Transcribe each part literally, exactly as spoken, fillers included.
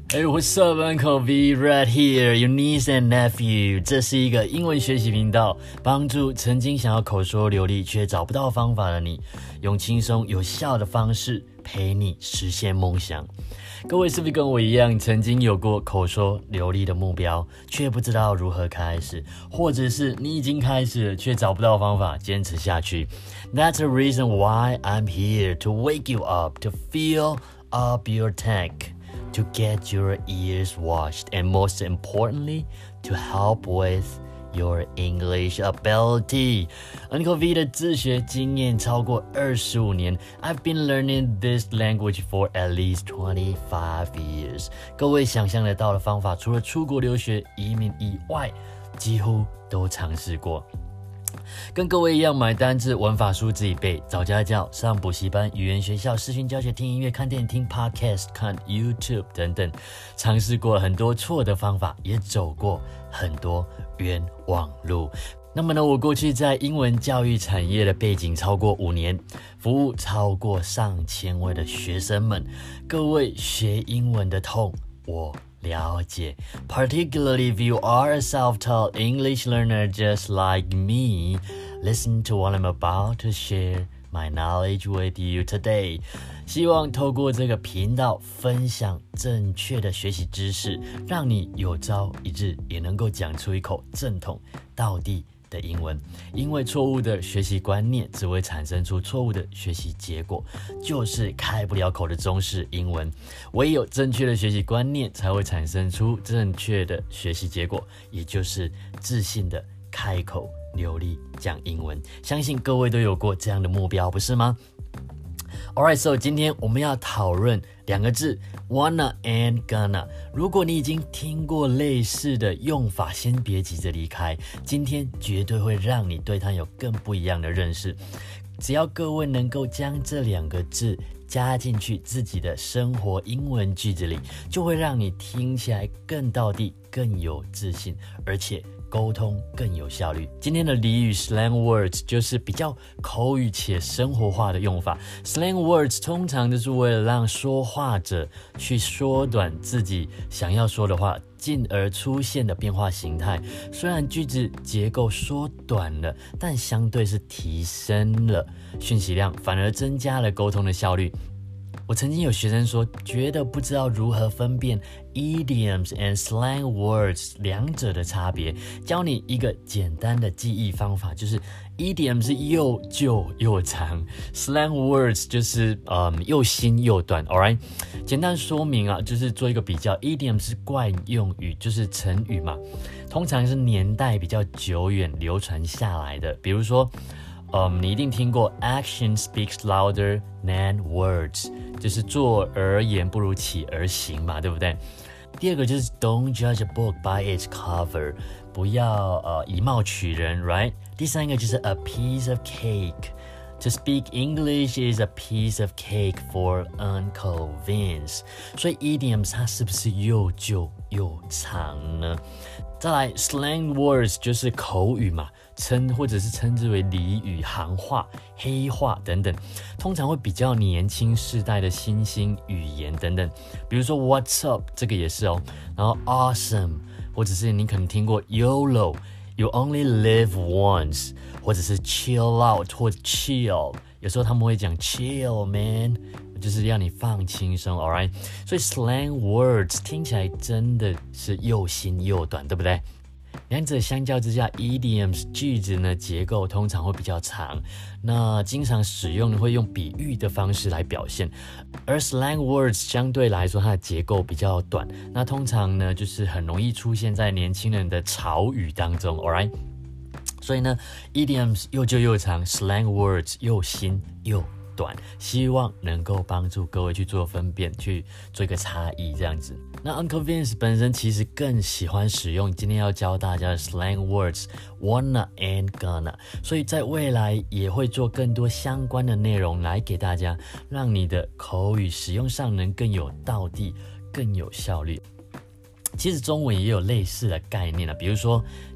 Hey, what's up, Uncle V? Right here, your niece and nephew. 这是一个英文学习频道，帮助曾经想要口说流利却找不到方法的你，用轻松有效的方式陪你实现梦想。各位是不是跟我一样，曾经有过口说流利的目标，却不知道如何开始，或者是你已经开始了，却找不到方法坚持下去？ That's the reason why I'm here to wake you up, to fill up your tank.To get your ears washed and most importantly, to help with your English ability. Uncle V 的自学经验超过二十五年 I've been learning this language for at least twenty-five years. 各位想象得到的方法，除了出国留学、移民以外，几乎都尝试过。跟各位一样，买单字、文法书自己背，找家教、上补习班、语言学校、视讯教学、听音乐、看电影、听 podcast、看 YouTube 等等，尝试过很多错的方法，也走过很多冤枉路。那么呢，我过去在英文教育产业的背景超过五年，服务超过上千位的学生们。各位学英文的痛，我了解 particularly if you are a self-taught English learner just like me, listen to what I'm about to share my knowledge with you today. 希望透过这个频道分享正确的学习知识，让你有朝一日也能够讲出一口正统道地的英文。因为错误的学习观念只会产生出错误的学习结果，就是开不了口的中式英文。唯有正确的学习观念才会产生出正确的学习结果，也就是自信的开口流利讲英文。相信各位都有过这样的目标，不是吗？ Alright, so 今天我们要讨论两个字 wanna and gonna。 如果你已经听过类似的用法，先别急着离开，今天绝对会让你对它有更不一样的认识。只要各位能够将这两个字加进去自己的生活英文句子里，就会让你听起来更道地、更有自信，而且沟通更有效率。今天的俚语 slang words 就是比较口语且生活化的用法。 Slang words 通常就是为了让说话者去缩短自己想要说的话，进而出现的变化形态。虽然句子结构缩短了，但相对是提升了讯息量，反而增加了沟通的效率。我曾经有学生说，觉得不知道如何分辨 idioms and slang words 两者的差别。教你一个简单的记忆方法，就是 idiom 是又旧又长， slang words 就是嗯又新又短。 Alright， 简单说明啊，就是做一个比较。 idiom 是惯用语，就是成语嘛，通常是年代比较久远流传下来的。比如说Um, 你一定听过 action speaks louder than words， 就是做而言不如起而行嘛，对不对？第二个就是 don't judge a book by its cover， 不要、呃、以貌取人 right？ 第三个就是 a piece of cake， to speak English is a piece of cake for Uncle Vince。 所以 idioms 它是不是又旧又长呢？再来 slang words 就是口语嘛，称或者是称之为俚语、行话、黑话等等，通常会比较年轻世代的新兴语言等等。比如说 what's up 这个也是哦，然后 awesome， 或者是你可能听过 YOLO， you only live once， 或者是 chill out 或者 chill， 有时候他们会讲 chill man， 就是让你放轻松 alright。 所以 slang words 听起来真的是又新又短，对不对？两者相较之下 idioms 句子呢结构通常会比较长，那经常使用会用比喻的方式来表现，而 slang words 相对来说它的结构比较短，那通常呢就是很容易出现在年轻人的潮语当中 alright。 所以呢 idioms 又旧又长， slang words 又新又短，希望能够帮助各位去做分辨，去做一个差异这样子。那 Uncle Vince 本身其实更喜欢使用今天要教大家的 slang words wanna and gonna， 所以在未来也会做更多相关的内容来给大家，让你的口语使用上能更有道地，更有效率。其实中文也有类似的概念啊，比如说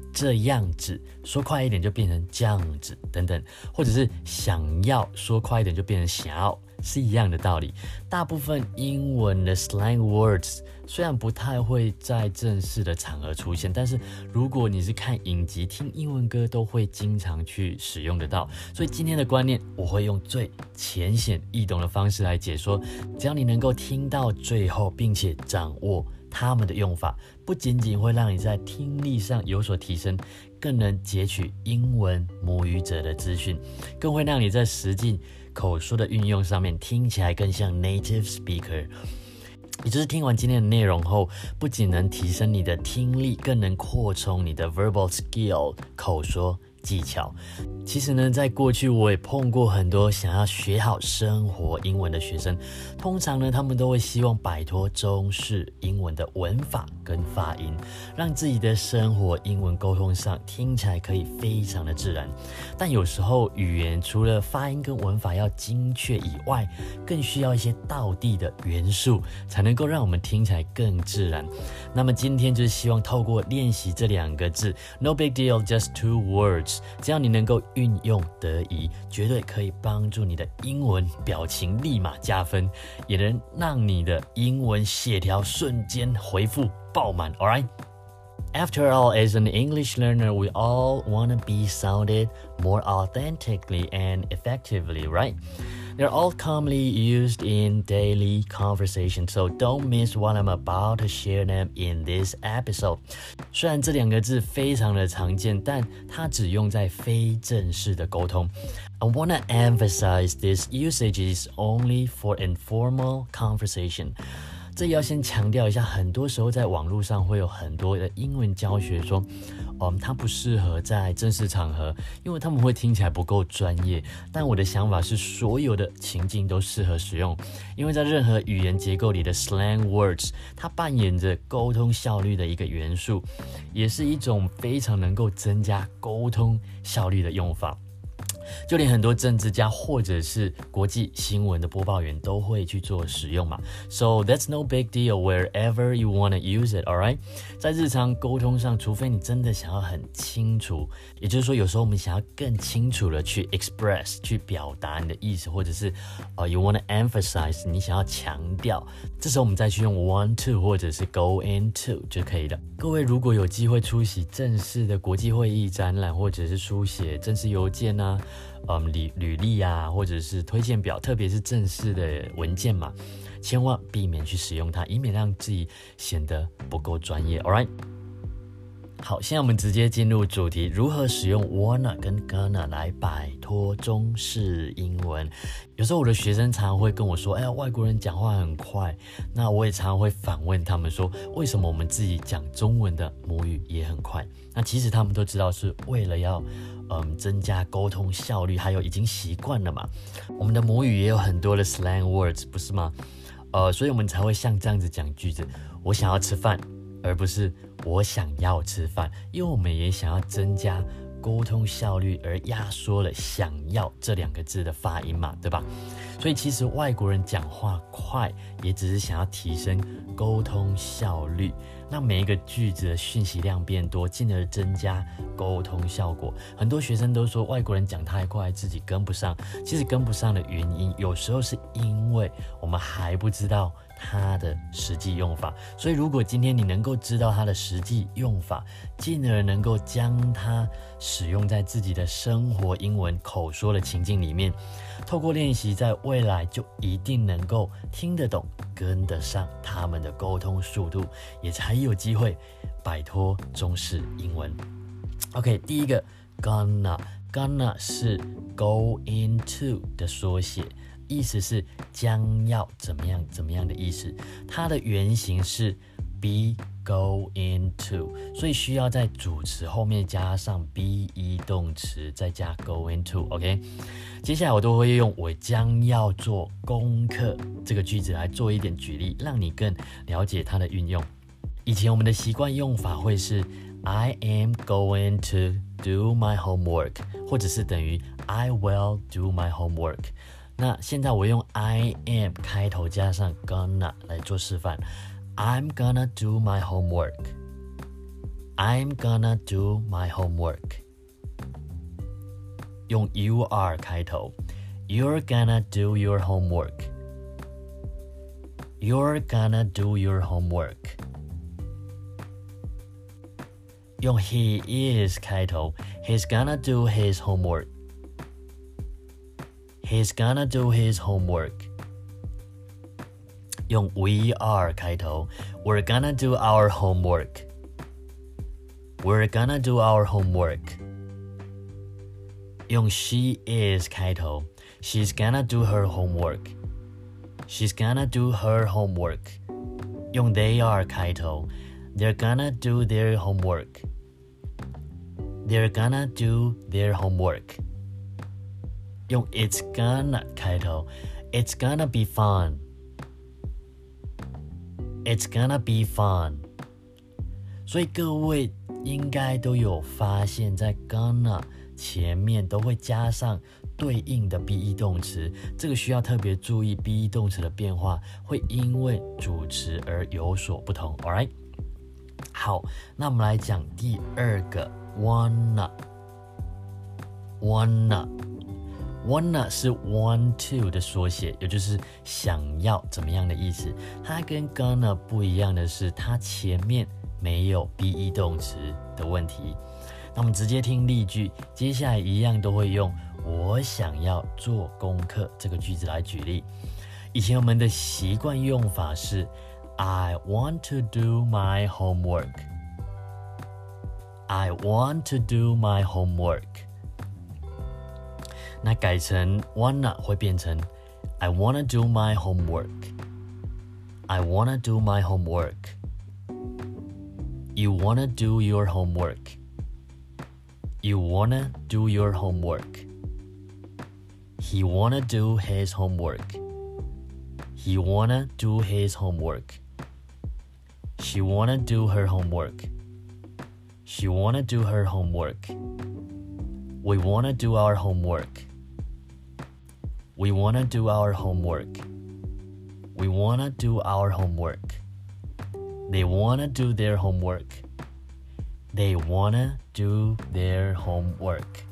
这样子，说快一点就变成这样子等等，或者是想要说快一点就变成想要，是一样的道理。大部分英文的 slang words 虽然不太会在正式的场合出现，但是如果你是看影集、听英文歌，都会经常去使用得到。所以今天的观念，我会用最浅显易懂的方式来解说，只要你能够听到最后，并且掌握他们的用法，不仅仅会让你在听力上有所提升，更能截取英文母语者的资讯，更会让你在实际口说的运用上面听起来更像 native speaker。也就是听完今天的内容后，不仅能提升你的听力，更能扩充你的 verbal skill 口说技巧。其实呢，在过去我也碰过很多想要学好生活英文的学生，通常呢，他们都会希望摆脱中式英文的文法跟发音，让自己的生活英文沟通上听起来可以非常的自然。但有时候语言除了发音跟文法要精确以外，更需要一些道地的元素，才能够让我们听起来更自然。那么今天就是希望透过练习这两个字 No big deal, just two words， 只要你能够运用得宜，绝对可以帮助你的英文表情立马加分，也能让你的英文协调瞬间回复爆满。 Alright? After all, as an English learner, we all want to be sounded more authentically and effectively, right? They're all commonly used in daily conversation, so don't miss what I'm about to share them in this episode. 虽然这两个字非常的常见，但它只用在非正式的沟通。I want to emphasize this usage is only for informal conversation. 这也要先强调一下，很多时候在网络上会有很多的英文教学说，嗯，它不适合在正式场合，因为他们会听起来不够专业。但我的想法是，所有的情境都适合使用，因为在任何语言结构里的 slang words， 它扮演着沟通效率的一个元素，也是一种非常能够增加沟通效率的用法。就连很多政治家或者是国际新闻的播报员都会去做使用嘛。So that's no big deal wherever you want to use it, alright? 在日常沟通上，除非你真的想要很清楚，也就是说有时候我们想要更清楚的去 express 去表达你的意思，或者是、uh, you want to emphasize 你想要强调，这时候我们再去用 want to 或者是 go into 就可以了。各位如果有机会出席正式的国际会议、展览，或者是书写正式邮件啊嗯，履履历啊，或者是推荐表，特别是正式的文件嘛，千万避免去使用它，以免让自己显得不够专业。Alright， 好，现在我们直接进入主题，如何使用 wanna 跟 gonna 来摆脱中式英文。有时候我的学生常常会跟我说，哎呀，外国人讲话很快，那我也常常会反问他们说，为什么我们自己讲中文的母语也很快？那其实他们都知道是为了要嗯，增加沟通效率，还有已经习惯了嘛。我们的母语也有很多的 slang words， 不是吗？呃，所以我们才会像这样子讲句子，我想要吃饭，而不是我想要吃饭，因为我们也想要增加沟通效率，而压缩了想要这两个字的发音嘛，对吧？所以其实外国人讲话快，也只是想要提升沟通效率，让每一个句子的讯息量变多，进而增加沟通效果。很多学生都说外国人讲太快，自己跟不上。其实跟不上的原因，有时候是因为我们还不知道它的实际用法。所以如果今天你能够知道它的实际用法，进而能够将它使用在自己的生活英文口说的情境里面，透过练习，在未来就一定能够听得懂，跟得上他们的沟通速度，也才有机会摆脱中式英文。OK， 第一个 gonna gonna 是 go into 的缩写，意思是将要怎么样怎么样的意思。它的原型是 be go into， 所以需要在主词后面加上 be 动词，再加 go into。OK， 接下来我都会用我将要做功课这个句子来做一点举例，让你更了解它的运用。以前我们的习惯用法会是 I am going to do my homework， 或者是等于 I will do my homework。那现在我用 I am 开头加上 gonna 来做示范， I'm gonna do my homework， I'm gonna do my homework. 用 you are 开头 You're gonna do your homework. You're gonna do your homework. 用 he is 开头 He's gonna do his homework. He's gonna do his homework. 用 we are 开头 We're gonna do our homework. We're gonna do our homework. 用 she is 开头 She's gonna do her homework. She's gonna do her homework. 用 they are 开头 They're gonna do their homework. They're gonna do their homework. 用 it's gonna 开头 It's gonna be fun. It's gonna be fun. 所以各位应该都有发现，在 gonna 前面都会加上对应的 be 动词，这个需要特别注意 be 动词的变化会因为主词而有所不同。 Alright， 好，那我们来讲第二个 wanna wanna wanna 是 want to 的缩写，也就是想要怎么样的意思。它跟 gonna 不一样的是，它前面没有 be 动词的问题。那我们直接听例句，接下来一样都会用我想要做功课这个句子来举例。以前我们的习惯用法是 I want to do my homework. I want to do my homework. 那改成 wanna 会变成 I wanna do my homework. I wanna do my homework. You wanna do your homework. You wanna do your homework. He wanna do his homework. He wanna do his homework. She wanna do her homework. She wanna do her homework. We wanna do our homework. We wanna do our homework. We wanna do our homework. They wanna do their homework. They wanna do their homework.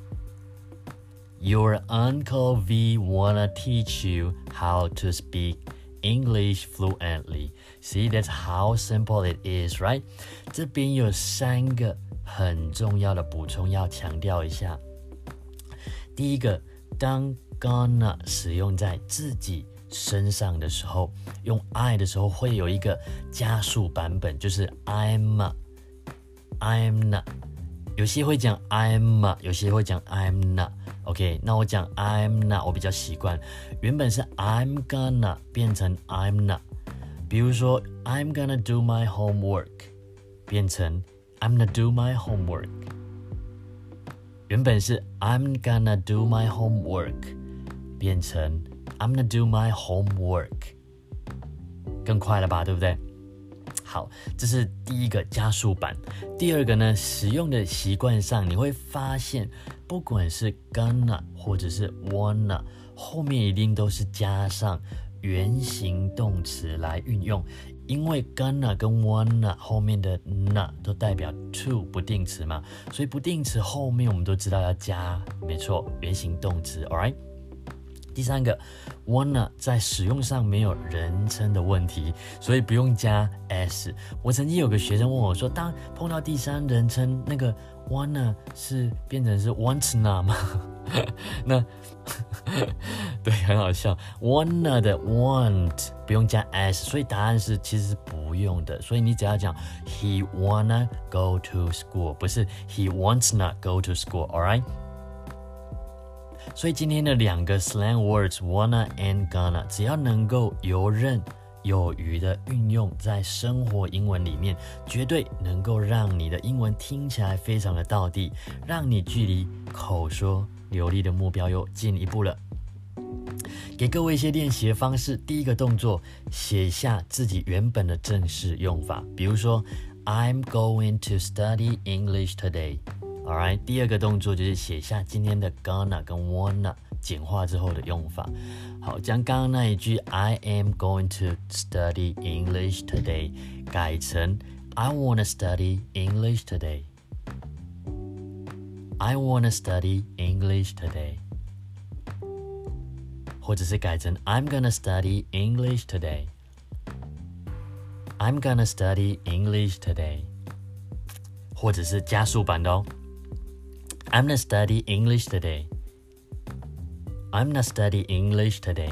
Your Uncle V wanna teach you how to speak English fluently. See, that's how simple it is, right? 这边有三个很重要的补充要强调一下。第一个，当 gonna 使用在自己身上的时候，用 I 的时候会有一个加速版本，就是 I'm I'm not， 有些会讲 I'm， 有些会讲 I'm not。OK， 那我讲 I'm not， 我比较习惯。原本是 I'm gonna 变成 I'm not。比如说 I'm gonna do my homework， 变成 I'm gonna do my homework。原本是 I'm gonna do my homework， 变成 I'm gonna do my homework， 更快了吧，对不对？好，这是第一个加速版。第二个呢，使用的习惯上你会发现，不管是 gonna 或者是 wanna， 后面一定都是加上原形动词来运用，因为 gonna 跟 wanna 后面的 na 都代表 to 不定词嘛，所以不定词后面我们都知道要加，没错，原形动词 alright。 第三个 wanna 在使用上没有人称的问题，所以不用加 s。 我曾经有个学生问我说，当碰到第三人称，那个 wanna 是变成是 wanna 吗？那对，很好笑。wanna 的 want 不用加 s， 所以答案是其实是不用的。所以你只要讲 he wanna go to school， 不是 he wants not go to school， alright？ 所以今天的两个 slang words wanna and gonna， 只要能够游刃有余的运用在生活英文里面，绝对能够让你的英文听起来非常的道地，让你距离口说流利的目标又进一步了。给各位一些练习的方式，第一个动作，写下自己原本的正式用法，比如说 I'm going to study English today。 Alright， 第二个动作就是写下今天的 gonna 跟 wanna 简化之后的用法。好，将刚刚那一句 I am going to study English today 改成 I wanna study English today. I wanna study English today. 或者是改成 I'm gonna study English today. I'm gonna study English today. 或者是加速版的哦 I'm gonna study English today. I'm gonna study English today.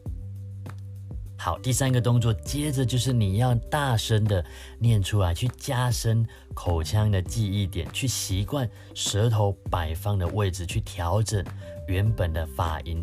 好，第三个动作，接着就是你要大声的念出来，去加深口腔的记忆点，去习惯舌头摆放的位置，去调整原本的发音。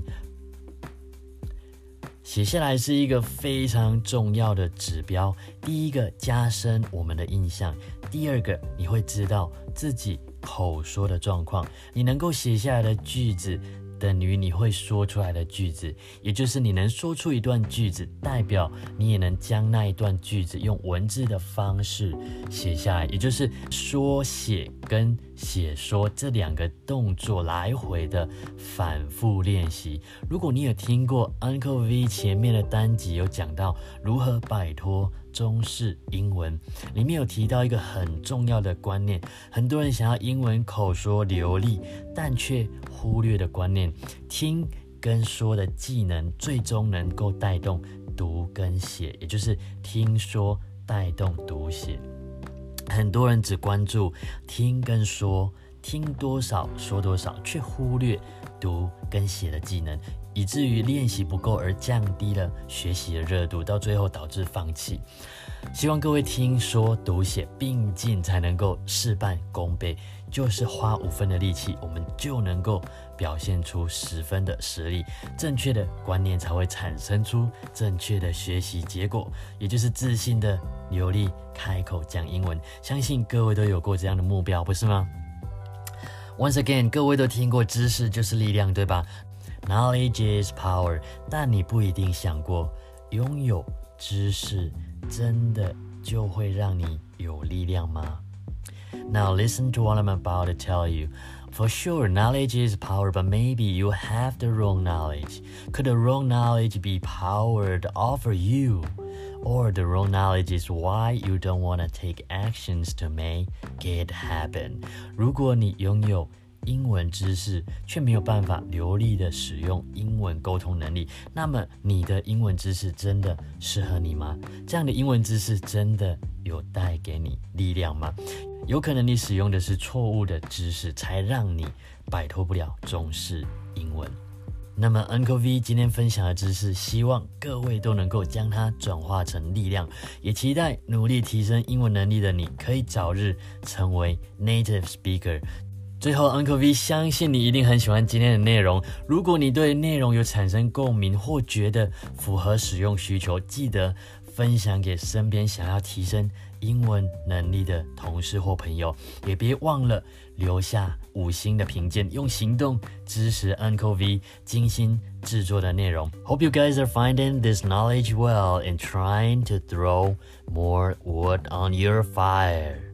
写下来是一个非常重要的指标。第一个，加深我们的印象；第二个，你会知道自己口说的状况。你能够写下来的句子等于你会说出来的句子，也就是你能说出一段句子，代表你也能将那一段句子用文字的方式写下来，也就是说写跟写说这两个动作来回的反复练习。如果你有听过 Uncle V 前面的单集有讲到如何摆脱中式英文，里面有提到一个很重要的观念，很多人想要英文口说流利，但却忽略的观念，听跟说的技能最终能够带动读跟写，也就是听说带动读写。很多人只关注听跟说，听多少说多少，却忽略读跟写的技能，以至于练习不够而降低了学习的热度，到最后导致放弃。希望各位听说读写并进，才能够事半功倍，就是花五分的力气，我们就能够表现出十分的实力。正确的观念才会产生出正确的学习结果，也就是自信的流利开口讲英文。相信各位都有过这样的目标，不是吗？ Once again， 各位都听过知识就是力量，对吧？ Knowledge is power， 但你不一定想过，拥有知识真的就会让你有力量吗？ Now listen to what I'm about to tell you. For sure, knowledge is power, but maybe you have the wrong knowledge. Could the wrong knowledge be power to offer you? Or the wrong knowledge is why you don't want to take actions to make it happen. 如果你拥有英文知识，却没有办法流利的使用英文沟通能力，那么你的英文知识真的适合你吗？这样的英文知识真的有带给你力量吗？有可能你使用的是错误的知识，才让你摆脱不了中式英文。那么 Uncle V 今天分享的知识，希望各位都能够将它转化成力量，也期待努力提升英文能力的你可以早日成为 native speaker。最后 Uncle V 相信你一定很喜欢今天的内容，如果你对内容有产生共鸣或觉得符合使用需求，记得分享给身边想要提升英文能力的同事或朋友，也别忘了留下五星的评鉴，用行动支持 Uncle V 精心制作的内容。 Hope you guys are finding this knowledge well and trying to throw more wood on your fire.